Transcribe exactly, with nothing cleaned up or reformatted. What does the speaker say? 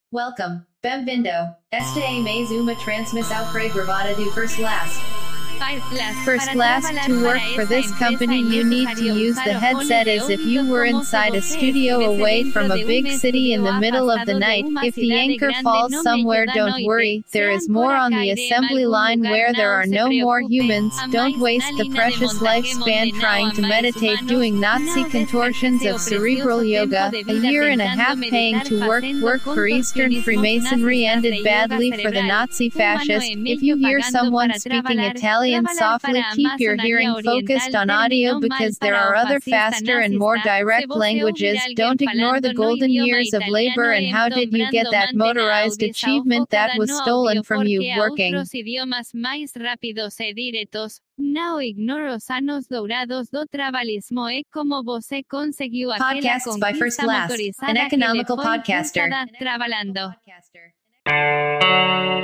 Welcome. Bem-vindo. Esta é mais uma transmissão gravada do First Class. First class, to work for this company you need to use the headset as if you were inside a studio away from a big city in the middle of the night. If the anchor falls somewhere, don't worry, there is more on the assembly line where there are no more humans. Don't waste the precious lifespan trying to meditate doing Nazi contortions of cerebral yoga. A year and a half paying to work, work for Eastern Freemasonry ended badly for the Nazi fascists. If you hear someone speaking Italian softly, keep your hearing focused on audio because there are other faster and more direct languages. Don't ignore the golden years of labor and how did you get that motorized achievement that was stolen from you working. Não ignore os anos dourados do trabalhismo e como você conseguiu aquela Podcasts by First conquista Class, motorizada an que economical lhe foi podcaster. custada trabalhando.